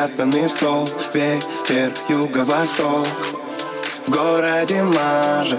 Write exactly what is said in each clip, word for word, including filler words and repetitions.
спрятаны в стол. Ветер, юго-восток, в городе мажет.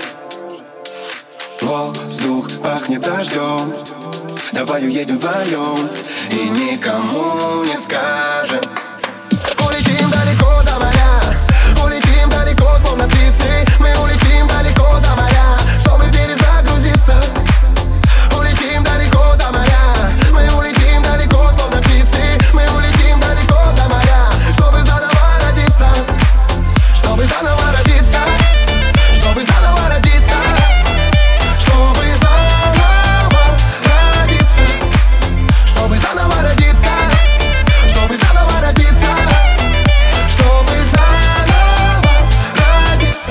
Воздух пахнет дождем. Давай уедем вдвоем и никому не скажем. Улетим далеко за моря, улетим далеко, словно птицы. Мы улетим далеко за моря, чтобы перезагрузиться. Улетим далеко за моря, мы улетим далеко, словно птицы. Мы улетим далеко за моря, чтобы заново родиться. Чтобы заново родиться. Чтобы заново родиться. Чтобы заново родиться. Чтобы заново родиться. Чтобы заново родиться. Чтобы заново родиться.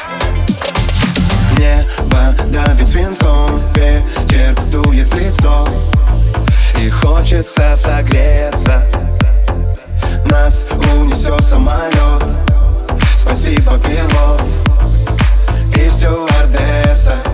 Небо давит свинцом, ветер дует в лицо, и хочется согреться. Нас унесет самолет. Спасибо, пилот и стюардесса.